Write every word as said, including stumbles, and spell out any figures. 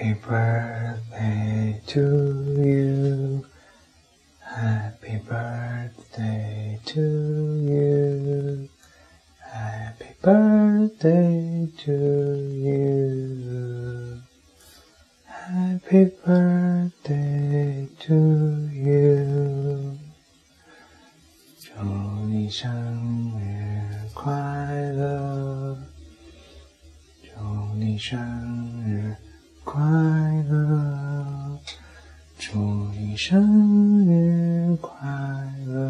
Happy birthday to you. Happy birthday to you. Happy birthday to you. Happy birthday to you. 祝你生日快乐，祝你生日快乐，祝你生日快乐。